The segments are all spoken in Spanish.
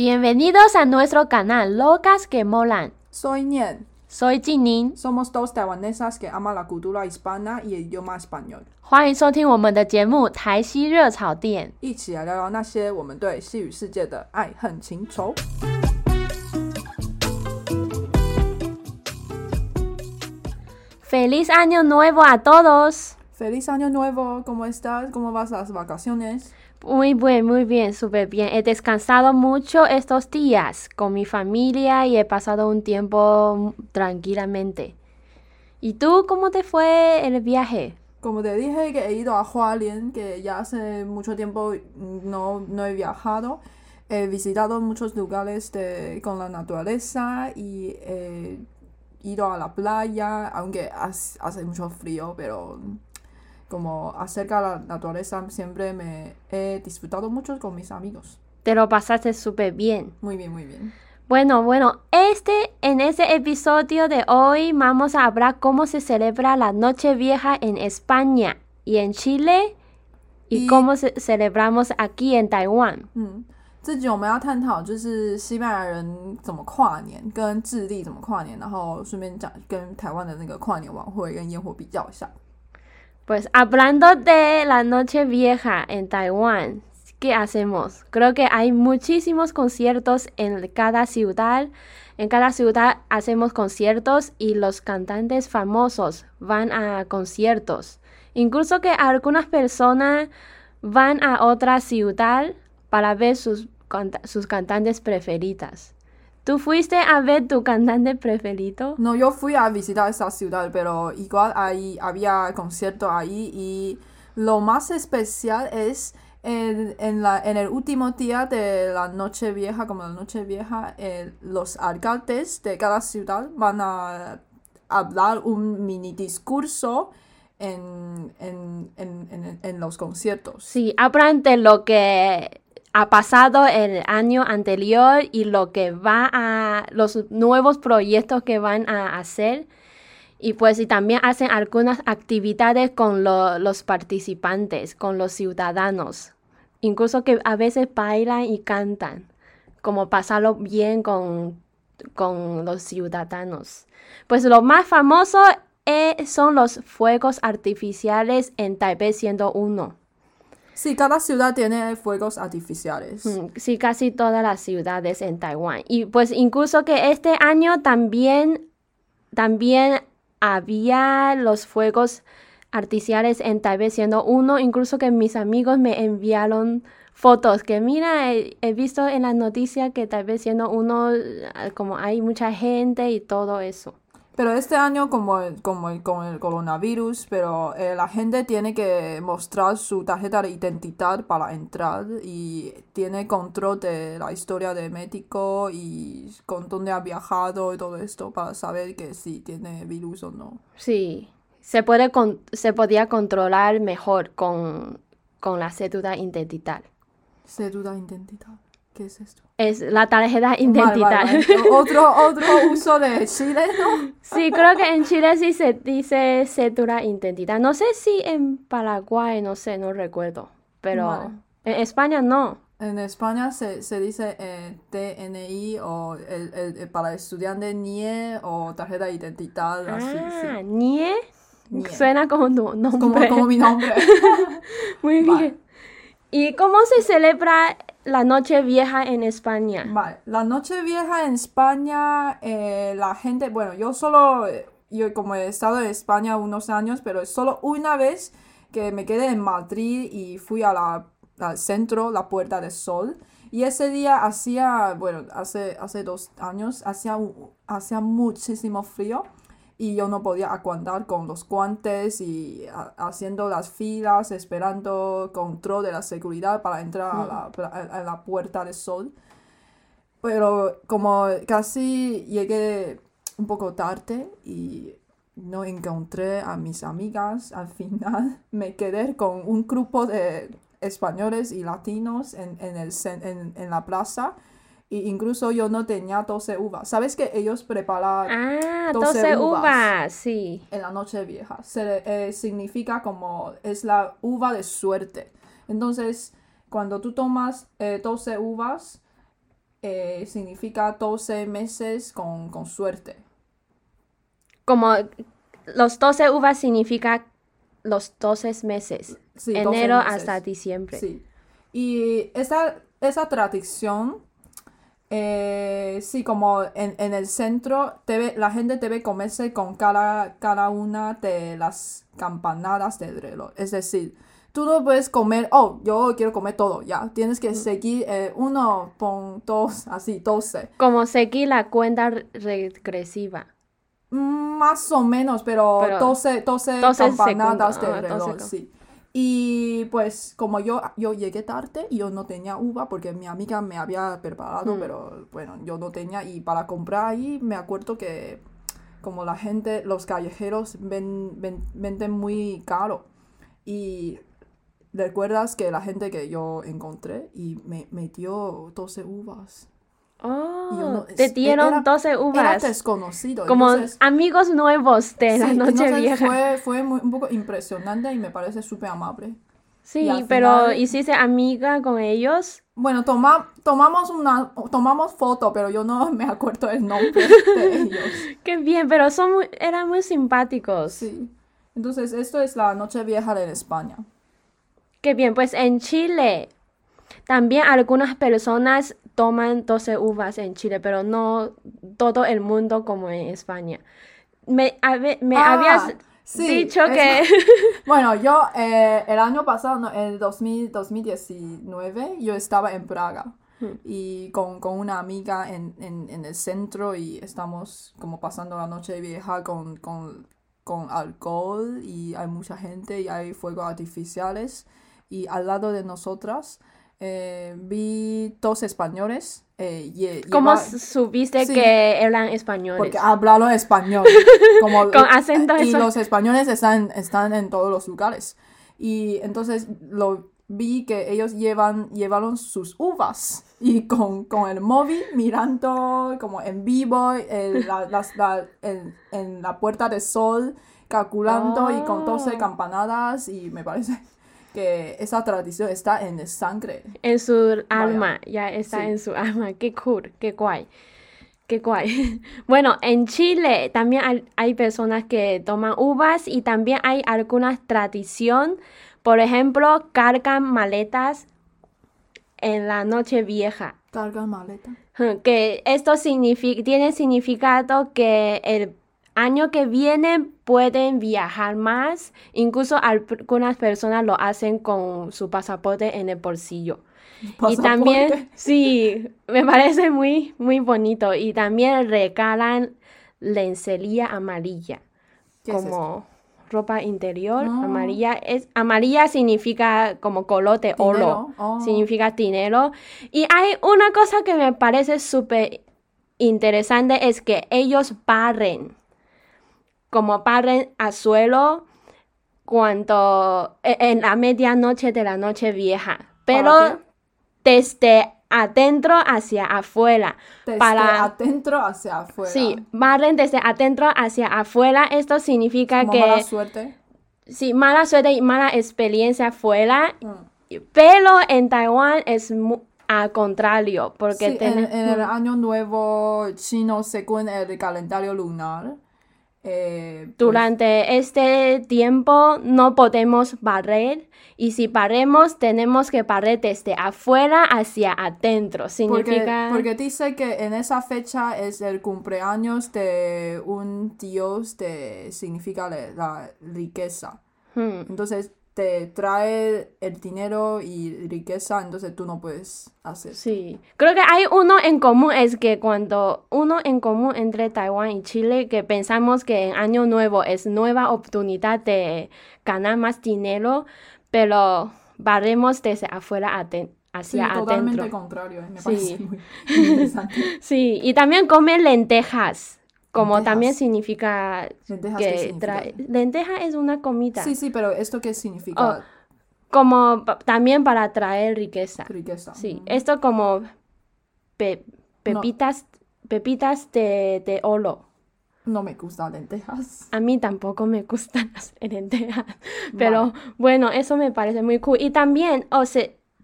Bienvenidos a nuestro canal Locas que Molan. Soy Nian. Soy Jinin. Somos dos taiwanesas que aman la cultura hispana y el idioma español. 欢迎收听我们的节目《台西熱炒店》， 一起來聊聊那些我們對西語世界的愛恨情仇。 Feliz Año Nuevo a todos. Feliz Año Nuevo. ¿Cómo estás? ¿Cómo vas las vacaciones? Muy bien, súper bien. He descansado mucho estos días con mi familia y he pasado un tiempo tranquilamente. ¿Y tú cómo te fue el viaje? Como te dije que he ido a Hualien, que ya hace mucho tiempo no he viajado. He visitado muchos lugares con la naturaleza y he ido a la playa, aunque hace mucho frío, pero como acerca de la naturaleza siempre me he disfrutado mucho con mis amigos. Te lo pasaste súper bien. Muy bien. Bueno, en este episodio de hoy vamos a hablar cómo se celebra la Nochevieja en España y en Chile y cómo celebramos aquí en Taiwan. 这集我们要探討就是西班牙人怎麼跨年，跟智利怎麼跨年，然後順便講跟台灣的那個跨年晚會跟煙火比較一下。 Pues hablando de la Nochevieja en Taiwán, ¿qué hacemos? Creo que hay muchísimos conciertos en cada ciudad. En cada ciudad hacemos conciertos y los cantantes famosos van a conciertos. Incluso que algunas personas van a otra ciudad para ver sus cantantes preferidas. ¿Tú fuiste a ver tu cantante preferido? No, yo fui a visitar esa ciudad, pero igual había concierto ahí y lo más especial es en el último día de la Nochevieja, como la Nochevieja, los alcaldes de cada ciudad van a hablar un mini discurso en los conciertos. Sí, hablan de lo que ha pasado el año anterior y lo que los nuevos proyectos que van a hacer. Y pues y también hacen algunas actividades con los participantes, con los ciudadanos. Incluso que a veces bailan y cantan, como pasarlo bien con los ciudadanos. Pues lo más famoso son los fuegos artificiales en Taipei 101. Sí, cada ciudad tiene fuegos artificiales. Sí, casi todas las ciudades en Taiwán. Y pues incluso que este año también había los fuegos artificiales en Taipei 101. Incluso que mis amigos me enviaron fotos que mira, he visto en las noticias que Taipei 101 como hay mucha gente y todo eso. Pero este año con el coronavirus, pero la gente tiene que mostrar su tarjeta de identidad para entrar y tiene control de la historia de médico y con dónde ha viajado y todo esto para saber que si tiene virus o no. Sí, se podía controlar mejor con la cédula identidad. ¿Cédula identidad? ¿Qué es esto? Es la tarjeta identidad. Vale. ¿Otro uso de Chile, no? Sí, creo que en Chile sí se dice cédula identidad. No sé si en Paraguay, no sé, no recuerdo. Pero vale. En España no. En España se dice DNI o para estudiante NIE o tarjeta de identidad. Así, sí. NIE. Suena como tu nombre. Como mi nombre. Muy bien. ¿Y cómo se celebra la Nochevieja en España? Vale, la Nochevieja en España, la gente, bueno, yo como he estado en España unos años, pero es solo una vez que me quedé en Madrid y fui al centro, la Puerta del Sol, y ese día hace 2 años, hacía muchísimo frío. Y yo no podía aguantar con los guantes y haciendo las filas, esperando control de la seguridad para entrar a la Puerta del Sol. Pero como casi llegué un poco tarde y no encontré a mis amigas, al final me quedé con un grupo de españoles y latinos en la plaza. Y incluso yo no tenía 12 uvas. ¿Sabes que ellos preparan 12 uvas? Sí. En la Nochevieja? Significa como es la uva de suerte. Entonces, cuando tú tomas 12 uvas, significa 12 meses con suerte. Como los 12 uvas significa los 12 meses. Sí, 12 enero meses. hasta diciembre. Sí. Y esa tradición, sí, como en el centro, la gente debe comerse con cada una de las campanadas del reloj. Es decir, tú no puedes comer, yo quiero comer todo, ya. Tienes que seguir 1.2, así, 12. Como seguir la cuenta regresiva. Más o menos, pero 12 campanadas del reloj, 12. sí. Y pues como yo llegué tarde y yo no tenía uva porque mi amiga me había preparado, pero bueno, yo no tenía. Y para comprar ahí me acuerdo que como la gente, los callejeros venden muy caro. Y recuerdas que la gente que yo encontré y me dio 12 uvas. Te dieron 12 uvas. Era desconocido. Como entonces, amigos nuevos de la noche vieja. Fue un poco impresionante y me parece súper amable. Sí, pero ¿hiciste amiga con ellos? Bueno, tomamos foto, pero yo no me acuerdo el nombre de ellos. Qué bien, pero eran muy simpáticos. Sí. Entonces, esto es la noche vieja en España. Qué bien, pues en Chile también algunas personas toman 12 uvas en Chile, pero no todo el mundo como en España. Me habías dicho que... Bueno, yo el año pasado, no, en 2019, yo estaba en Praga y con una amiga en el centro y estamos como pasando la noche vieja con alcohol y hay mucha gente y hay fuegos artificiales y al lado de nosotras vi dos españoles. ¿Cómo supiste que eran españoles? Porque hablaron español. Con acento y los españoles están en todos los lugares. Y entonces vi que ellos llevaron sus uvas. Y con el móvil mirando como en vivo en la Puerta del Sol, calculando y con 12 campanadas. Y me parece que esa tradición está en el sangre. En su alma, ya está en su alma. Qué cool, qué guay. Qué guay. Bueno, en Chile también hay personas que toman uvas y también hay alguna tradición. Por ejemplo, cargan maletas en la noche vieja. ¿Cargan maletas? Que esto tiene significado que el año que viene pueden viajar más. Incluso algunas personas lo hacen con su pasaporte en el bolsillo. ¿Pasaporte? Y también, sí, me parece muy, muy bonito. Y también regalan lencería amarilla. Como ropa interior amarilla. Amarilla significa como color de oro. Significa dinero. Y hay una cosa que me parece súper interesante, es que ellos barren al suelo cuando en la medianoche de la noche vieja. Pero desde adentro hacia afuera. Adentro hacia afuera. Sí, barren desde adentro hacia afuera. Esto significa como que... mala suerte. Sí, mala suerte y mala experiencia afuera. Pero en Taiwán es al contrario. Porque sí, en el año nuevo chino, según el calendario lunar, durante este tiempo no podemos barrer, y si barremos tenemos que barrer desde afuera hacia adentro. Significa... porque dice que en esa fecha es el cumpleaños de un dios significa la riqueza. Entonces te trae el dinero y riqueza, entonces tú no puedes hacer. Sí, creo que hay uno en común, es que uno en común entre Taiwán y Chile, que pensamos que en Año Nuevo es nueva oportunidad de ganar más dinero, pero barremos desde afuera hacia adentro. Totalmente contrario, me parece muy interesante. Sí, y también comen lentejas. Como lentejas. También significa que lenteja es una comida. Sí, pero ¿esto qué significa? Como también para traer riqueza. Sí, esto como pepitas de oro. No me gustan lentejas. A mí tampoco me gustan las lentejas. Pero bueno, eso me parece muy cool. Y también,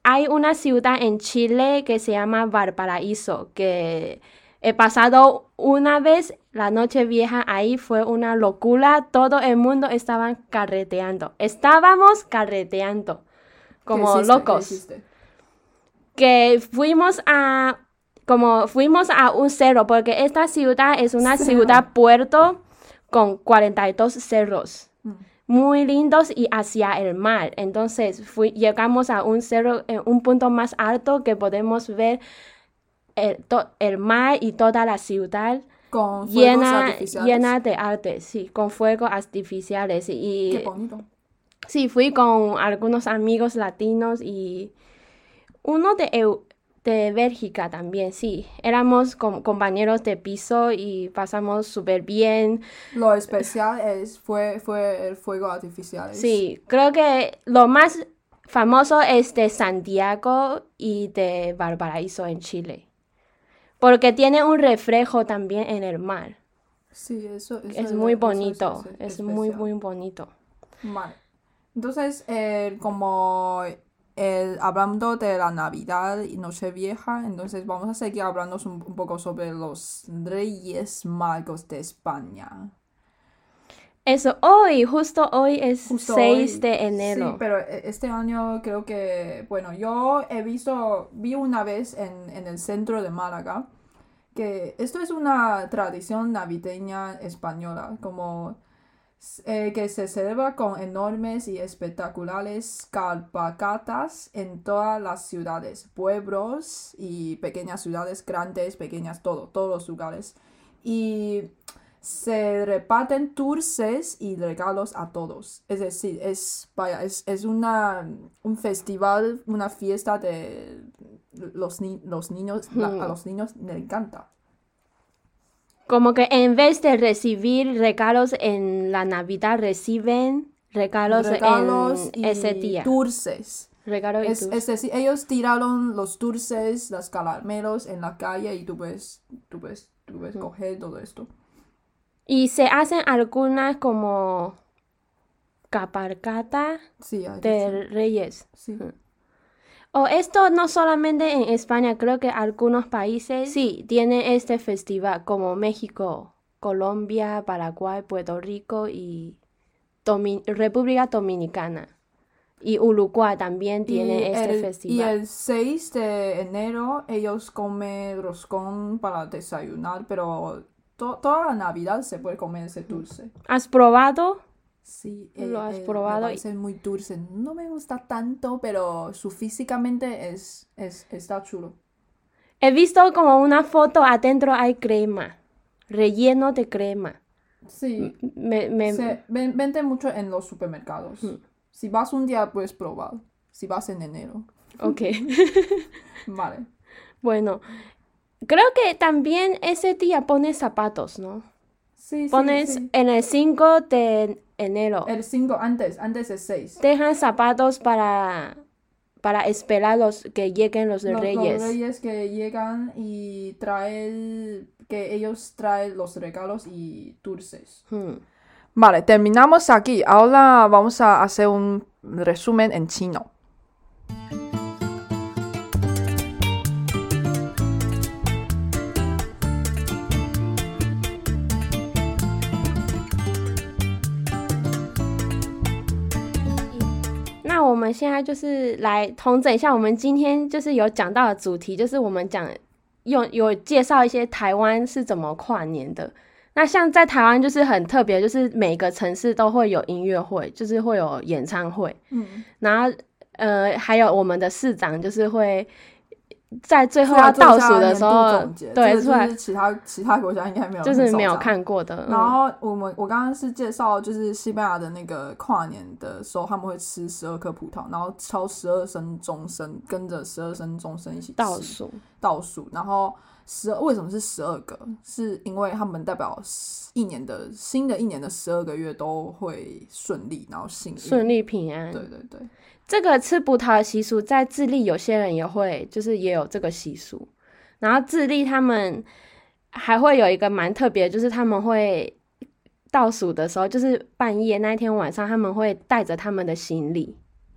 hay una ciudad en Chile que se llama Valparaíso, que he pasado una vez la noche vieja ahí, fue una locura, todo el mundo estaba carreteando, estábamos carreteando como locos. Que fuimos a un cerro, porque esta ciudad es una ciudad puerto con 42 cerros. Muy lindos y hacia el mar. Entonces llegamos a un cerro, un punto más alto que podemos ver el mar y toda la ciudad con llena de arte, sí, con fuegos artificiales. Y, qué bonito. Sí, fui con algunos amigos latinos y uno de Bélgica también, sí. Éramos compañeros de piso y pasamos súper bien. Lo especial fue el fuego artificial. Sí, creo que lo más famoso es de Santiago y de Valparaíso en Chile. Porque tiene un reflejo también en el mar. Sí, eso es muy bonito. Es muy, muy bonito. Vale. Entonces, hablando de la Navidad y Nochevieja, entonces vamos a seguir hablando un poco sobre los Reyes Magos de España. Eso, justo hoy es 6 de enero. Sí, pero este año creo que, bueno, yo vi una vez en el centro de Málaga, que esto es una tradición navideña española, como que se celebra con enormes y espectaculares cabalgatas en todas las ciudades, pueblos y pequeñas ciudades, grandes, pequeñas, todos los lugares. Y se reparten dulces y regalos a todos. Es decir, es un festival, una fiesta de los niños. A los niños les encanta. Como que en vez de recibir regalos en la Navidad, reciben regalos en ese día. Dulces. Regalos y dulces. Es decir, ellos tiraron los dulces, los caramelos en la calle y tú puedes coger todo esto. Y se hacen algunas como cabalgata de Reyes. Sí. Esto no solamente en España, creo que algunos países sí tienen este festival, como México, Colombia, Paraguay, Puerto Rico y República Dominicana. Y Uruguay también tiene este festival. Y el 6 de enero ellos comen roscón para desayunar, pero toda la Navidad se puede comer ese dulce. ¿Has probado? Sí, ¿Lo has probado? Me parece muy dulce. No me gusta tanto, pero físicamente está chulo. He visto como una foto, adentro hay crema, relleno de crema. Sí, se vende mucho en los supermercados. Si vas un día puedes probar, si vas en enero. Ok. Vale. Bueno, creo que también ese día pones zapatos, ¿no? Sí, pones sí. En el 5 de enero. El 5 antes el 6. Dejan zapatos para esperar que lleguen los reyes. Los reyes que llegan y que ellos traen los regalos y dulces. Vale, terminamos aquí. Ahora vamos a hacer un resumen en chino. 那我们现在就是来統整一下我們今天就是有講到的主題，就是我們有介紹一些台灣是怎麼跨年的。那像在台灣就是很特別，就是每個城市都會有音樂會，就是會有演唱會。然後還有我們的市長就是會在最後要倒數的時候，對，出來其他國家應該沒有， 就是沒有看過的。 然後我剛剛是介紹，就是西班牙的那個跨年的時候，他們會吃12顆葡萄，然後敲12聲鐘聲，跟着12聲鐘聲一起吃倒數，然後為什麼是12個？是因為他們代表新的一年的12個月都會順利，然後順利平安。 對對對。 這個吃葡萄的習俗在智利有些人也會，就是也有這個習俗。然後智利他們還會有一個蠻特別的，就是他們會倒數的時候，就是半夜那天晚上，他們會帶着他們的行李，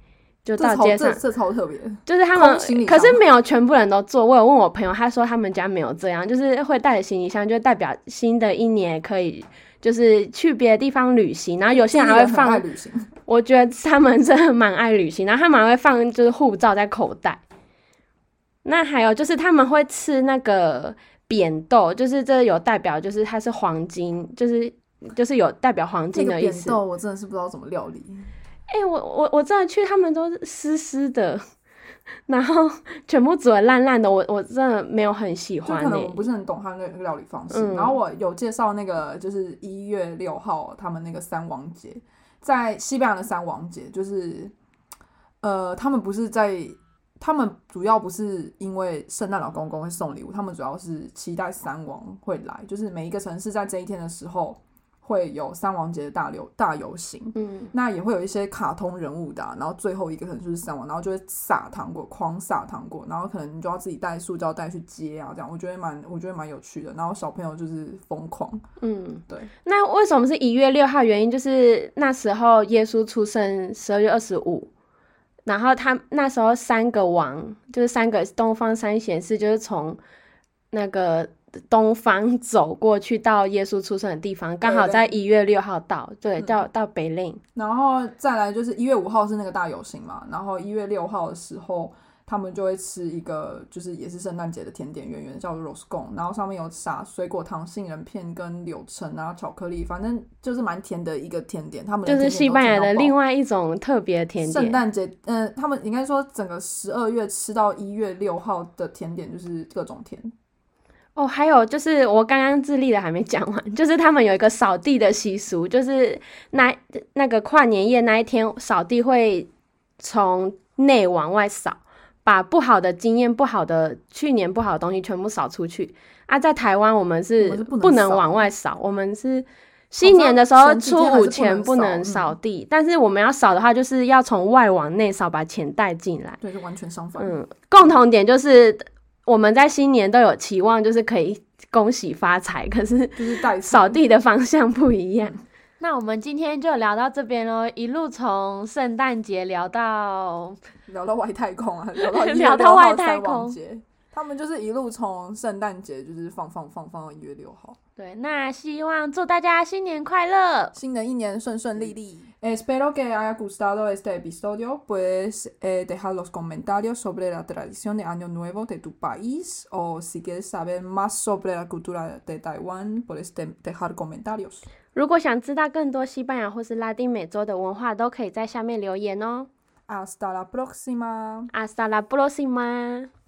就到街上， 這超特別， 就是他們，可是沒有全部人都做。我有問我朋友，他說他們家沒有這樣，就是會帶着行李箱，就代表新的一年可以就是去別的地方旅行。然後有些人還會放，我覺得他們真的蠻愛旅行，然後他們還會放就是護照在口袋。那還有就是他們會吃那個扁豆，就是這有代表就是它是黃金，就是有代表黃金的意思。 扁豆我真的是不知道怎麼料理。 我真的去，他們都是濕濕的，然後全部煮得爛爛的，我真的沒有很喜歡。 就可能我不是很懂他那個料理方式。然後我有介紹那個就是1月6號他們那個三王節，在西班牙的三王節，就是他們主要不是因為聖誕老公公會送禮物，他們主要是期待三王會來，就是每一個城市在這一天的時候會有三王節的大遊行，那也會有一些卡通人物的然後最後一個可能就是三王，然後就會撒糖果，狂撒糖果，然後可能你就要自己帶塑膠袋去接啊，這樣我覺得蠻有趣的，然后小朋友就是瘋狂，对。 那為什麼是1月6號？原因就是那時候耶穌出生12月25，然後他那時候3個王，就是3個東方三賢士，就是從那個東方走過去到耶穌出生的地方，剛好在1月6號到，對，到北令。 然後再來就是1月5號是那個大遊行嘛，然後1月6號的時候，他們就會吃一個就是也是聖誕節的甜點圓圓，叫做 roscon， 然後上面有撒水果糖、杏仁片跟柳橙啊、巧克力，反正就是蠻甜的一个甜点。他们的甜点就是西班牙的另外一種特別的甜點。 聖誕節，他們應該說整個12月吃到1月6號的甜點就是各種甜。 還有就是我剛剛智利的還沒講完，就是他們有一個掃地的習俗，就是那個跨年夜那一天掃地會從內往外掃，把不好的經驗、去年不好的東西全部掃出去啊。在台灣我們是不能往外掃，我們是新年的時候初5前不能掃地，但是我們要掃的話就是要從外往內掃，把錢帶進來。 對，就完全相反。 共同點就是我們在新年都有期望，就是可以恭喜發財，可是掃地的方向不一樣。那我們今天就聊到這邊咯，一路從聖誕節聊到外太空啊，聊到外太空節。他們就是一路從聖誕節就是放到1月6號。 對，那希望祝大家新年快樂， 新的一年順順利利。Espero que haya gustado este episodio. Puedes dejar los comentarios sobre la tradición de Año Nuevo de tu país o si quieres saber más sobre la cultura de Taiwán, puedes dejar comentarios. 如果想知道更多西班牙或是拉丁美洲的文化，都可以在下面留言哦。 Hasta la próxima. Hasta la próxima.